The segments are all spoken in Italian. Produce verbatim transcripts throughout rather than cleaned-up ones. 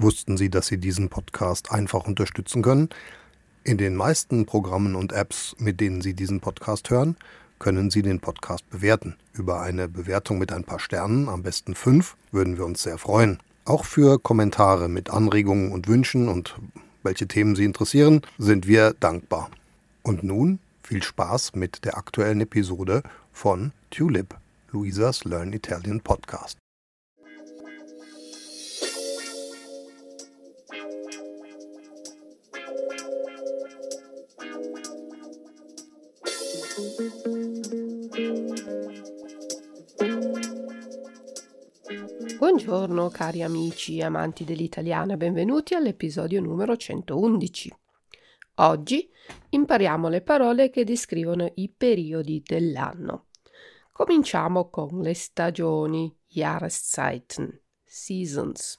Wussten Sie, dass Sie diesen Podcast einfach unterstützen können? In den meisten Programmen und Apps, mit denen Sie diesen Podcast hören, können Sie den Podcast bewerten. Über eine Bewertung mit ein paar Sternen, am besten fünf, würden wir uns sehr freuen. Auch für Kommentare mit Anregungen und Wünschen und welche Themen Sie interessieren, sind wir dankbar. Und nun viel Spaß mit der aktuellen Episode von Tulip, Luisas Learn Italian Podcast. Buongiorno cari amici e amanti dell'italiano e benvenuti all'episodio numero centoundici. Oggi impariamo le parole che descrivono i periodi dell'anno. Cominciamo con le stagioni, Jahreszeiten, Seasons.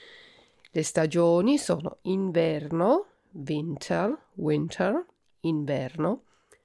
Le stagioni sono inverno, Winter, Winter, inverno,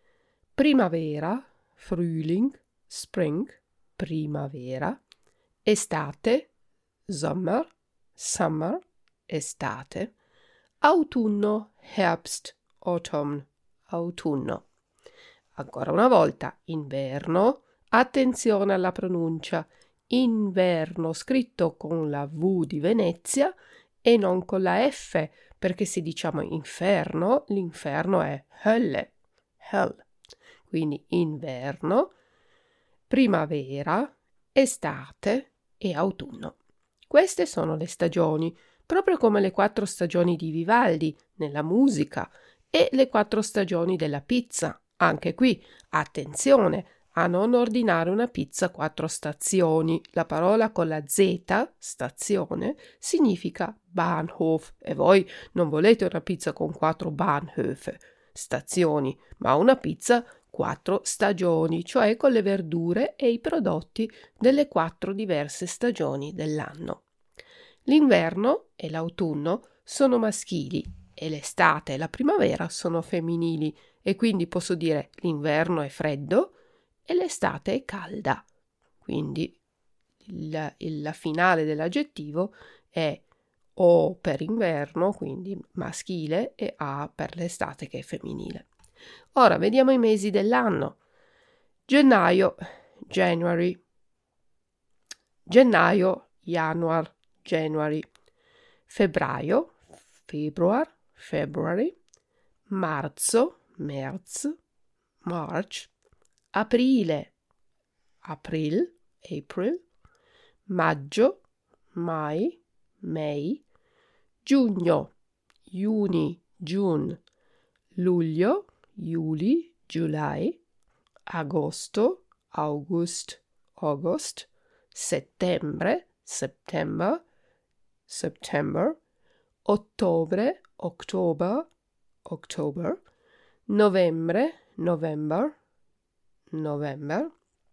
primavera, Frühling, Spring, primavera, estate, Sommer, Summer, estate, autunno, Herbst, Autumn, autunno. Ancora una volta, inverno, attenzione alla pronuncia, inverno scritto con la V di Venezia e non con la F, perché se diciamo inferno, l'inferno è Hölle, Hell. Quindi inverno, primavera, estate e autunno. Queste sono le stagioni, proprio come le quattro stagioni di Vivaldi nella musica e le quattro stagioni della pizza. Anche qui, attenzione a non ordinare una pizza a quattro stazioni. La parola con la Z, stazione, significa Bahnhof e voi non volete una pizza con quattro Bahnhöfe, stazioni, ma una pizza quattro stagioni, cioè con le verdure e i prodotti delle quattro diverse stagioni dell'anno. L'inverno e l'autunno sono maschili e l'estate e la primavera sono femminili e quindi posso dire l'inverno è freddo e l'estate è calda. Quindi il, il, la finale dell'aggettivo è O per inverno, quindi maschile, e A per l'estate che è femminile. Ora vediamo i mesi dell'anno. Gennaio, January. Gennaio, Januar, January. Febbraio, Februar, February. Marzo, März, March. Aprile, April, April. Maggio, Mai, May. Giugno, Juni, June. Luglio, Juli, July, agosto, August, August, settembre, September, September, ottobre, October, October, novembre, November, November,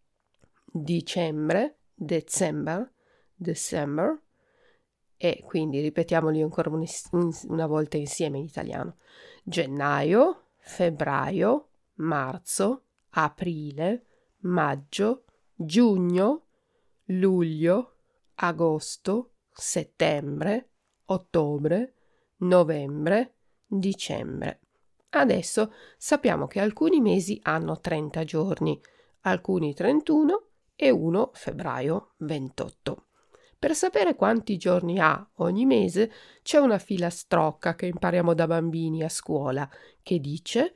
dicembre, December, December, e quindi ripetiamoli ancora una volta insieme in italiano. Gennaio, febbraio, marzo, aprile, maggio, giugno, luglio, agosto, settembre, ottobre, novembre, dicembre. Adesso sappiamo che alcuni mesi hanno trenta giorni, alcuni trentuno e uno febbraio ventotto. Per sapere quanti giorni ha ogni mese c'è una filastrocca che impariamo da bambini a scuola che dice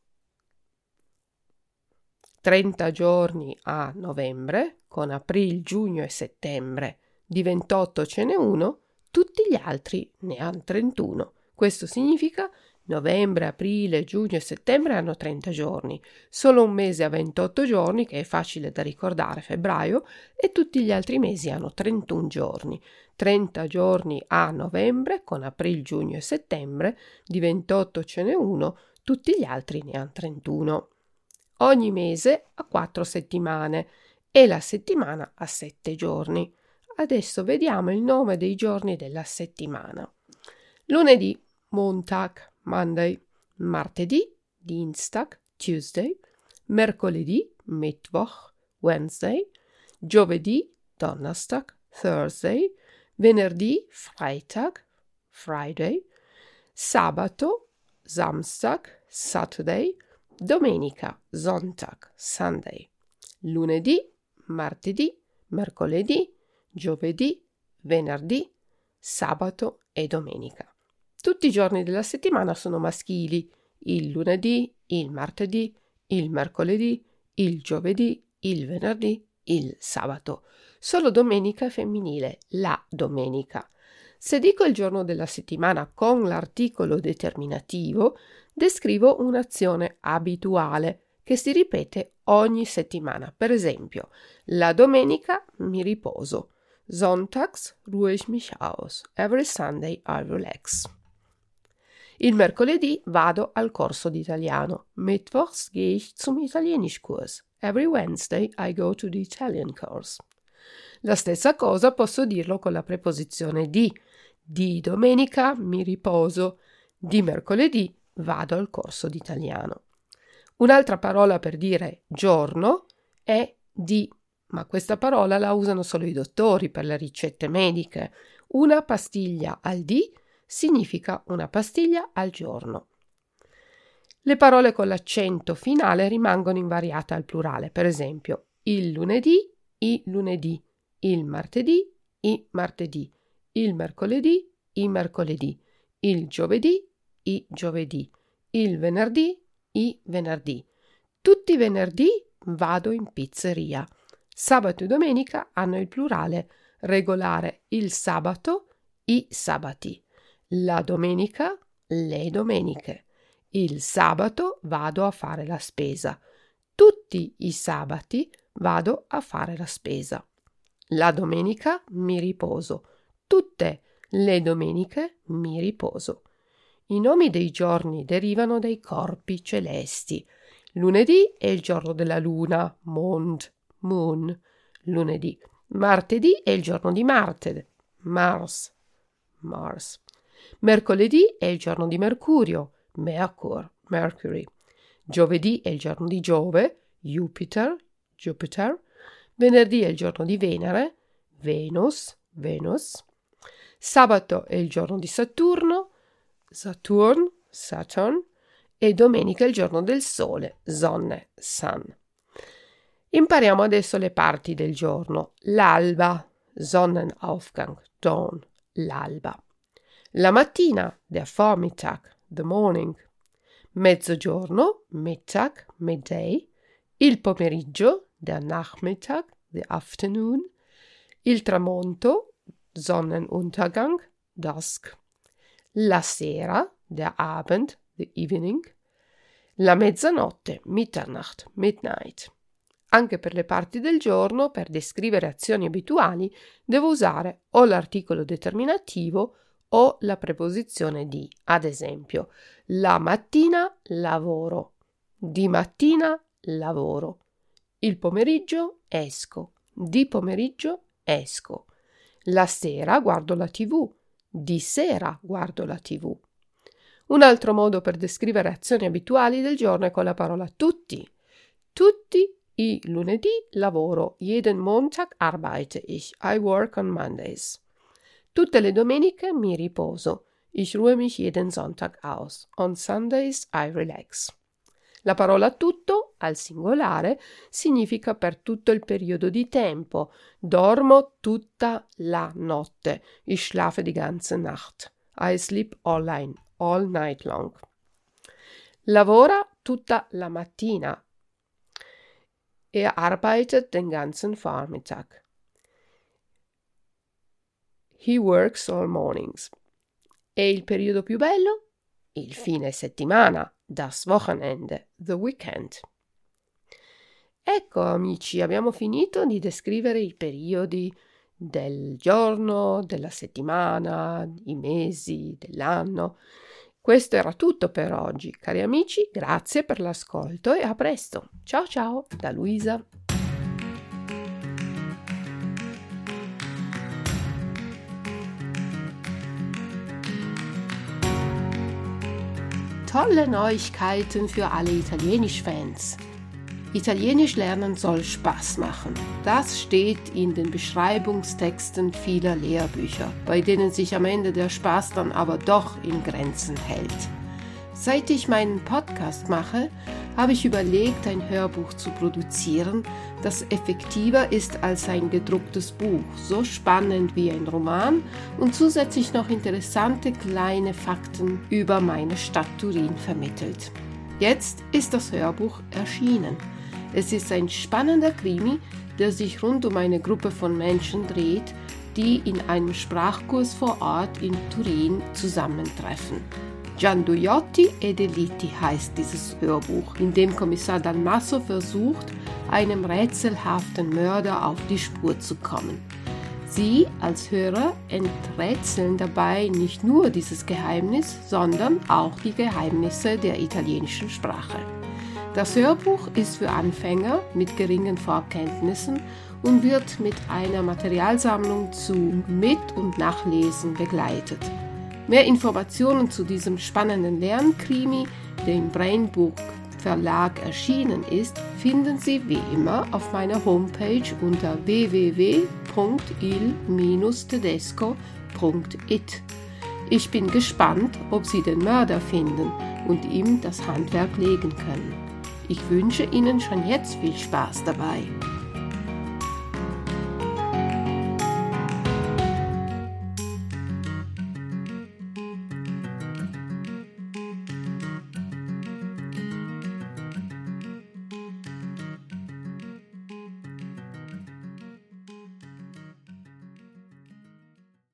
trenta giorni a novembre, con aprile, giugno e settembre, di ventotto ce n'è uno, tutti gli altri ne hanno trentuno. Questo significa novembre, aprile, giugno e settembre hanno trenta giorni, solo un mese ha ventotto giorni, che è facile da ricordare, febbraio, e tutti gli altri mesi hanno trentuno giorni. trenta giorni a novembre, con aprile, giugno e settembre, di ventotto ce n'è uno, tutti gli altri ne hanno trentuno. Ogni mese ha quattro settimane e la settimana ha sette giorni. Adesso vediamo il nome dei giorni della settimana. Lunedì, Montag, Monday, martedì, Dienstag, Tuesday, mercoledì, Mittwoch, Wednesday, giovedì, Donnerstag, Thursday, venerdì, Freitag, Friday, sabato, Samstag, Saturday, domenica, Sonntag, Sunday, lunedì, martedì, mercoledì, giovedì, venerdì, sabato e domenica. Tutti i giorni della settimana sono maschili: il lunedì, il martedì, il mercoledì, il giovedì, il venerdì, il sabato. Solo domenica è femminile, la domenica. Se dico il giorno della settimana con l'articolo determinativo, descrivo un'azione abituale che si ripete ogni settimana. Per esempio, la domenica mi riposo. Sonntags ruhe ich mich aus. Every Sunday I relax. Il mercoledì vado al corso di italiano. Mittwochs gehe ich zum Italienischkurs. Every Wednesday I go to the Italian course. La stessa cosa posso dirlo con la preposizione di. Di domenica mi riposo. Di mercoledì vado al corso di italiano. Un'altra parola per dire giorno è di, ma questa parola la usano solo i dottori per le ricette mediche. Una pastiglia al dì significa una pastiglia al giorno. Le parole con l'accento finale rimangono invariate al plurale. Per esempio, il lunedì, i lunedì, il martedì, i martedì, il mercoledì, i mercoledì, il giovedì, i giovedì, il venerdì, i venerdì. Tutti i venerdì vado in pizzeria. Sabato e domenica hanno il plurale regolare: il sabato, i sabati. La domenica, le domeniche. Il sabato vado a fare la spesa. Tutti i sabati vado a fare la spesa. La domenica mi riposo. Tutte le domeniche mi riposo. I nomi dei giorni derivano dai corpi celesti. Lunedì è il giorno della luna, Mond, Moon, lunedì. Martedì è il giorno di Marte, Mars, Mars. Mercoledì è il giorno di Mercurio, Mercur, Mercury. Giovedì è il giorno di Giove, Jupiter, Jupiter. Venerdì è il giorno di Venere, Venus, Venus. Sabato è il giorno di Saturno, Saturn, Saturn. E domenica è il giorno del Sole, Sonne, Sun. Impariamo adesso le parti del giorno. L'alba, Sonnenaufgang, Dawn, l'alba. La mattina, der Vormittag, the morning. Mezzogiorno, Mittag, midday. Il pomeriggio, der Nachmittag, the afternoon. Il tramonto, Sonnenuntergang, dusk. La sera, der Abend, the evening. La mezzanotte, Mitternacht, midnight. Anche per le parti del giorno, per descrivere azioni abituali, devo usare o l'articolo determinativo o la preposizione di. Ad esempio, la mattina lavoro, di mattina lavoro, il pomeriggio esco, di pomeriggio esco, la sera guardo la tivù, di sera guardo la tivù. Un altro modo per descrivere azioni abituali del giorno è con la parola tutti. Tutti i lunedì lavoro, jeden Montag arbeite ich, I work on Mondays. Tutte le domeniche mi riposo, ich ruhe mich jeden Sonntag aus, on Sundays I relax. La parola tutto, al singolare, significa per tutto il periodo di tempo. Dormo tutta la notte, ich schlafe die ganze Nacht, I sleep all, line, all night long. Lavora tutta la mattina, er arbeitet den ganzen Vormittag. He works all mornings. E il periodo più bello? Il fine settimana, das Wochenende, the weekend. Ecco amici, abbiamo finito di descrivere i periodi del giorno, della settimana, i mesi, dell'anno. Questo era tutto per oggi. Cari amici, grazie per l'ascolto e a presto. Ciao ciao da Luisa. Tolle Neuigkeiten für alle Italienisch-Fans. Italienisch lernen soll Spaß machen. Das steht in den Beschreibungstexten vieler Lehrbücher, bei denen sich am Ende der Spaß dann aber doch in Grenzen hält. Seit ich meinen Podcast mache, habe ich überlegt, ein Hörbuch zu produzieren, das effektiver ist als ein gedrucktes Buch, so spannend wie ein Roman und zusätzlich noch interessante kleine Fakten über meine Stadt Turin vermittelt. Jetzt ist das Hörbuch erschienen. Es ist ein spannender Krimi, der sich rund um eine Gruppe von Menschen dreht, die in einem Sprachkurs vor Ort in Turin zusammentreffen. Gianduiotti e Deliti heißt dieses Hörbuch, in dem Kommissar Dalmasso versucht, einem rätselhaften Mörder auf die Spur zu kommen. Sie als Hörer enträtseln dabei nicht nur dieses Geheimnis, sondern auch die Geheimnisse der italienischen Sprache. Das Hörbuch ist für Anfänger mit geringen Vorkenntnissen und wird mit einer Materialsammlung zu Mit- und Nachlesen begleitet. Mehr Informationen zu diesem spannenden Lernkrimi, der im Brainbook Verlag erschienen ist, finden Sie wie immer auf meiner Homepage unter w w w punkt il tedesco punkt it. Ich bin gespannt, ob Sie den Mörder finden und ihm das Handwerk legen können. Ich wünsche Ihnen schon jetzt viel Spaß dabei.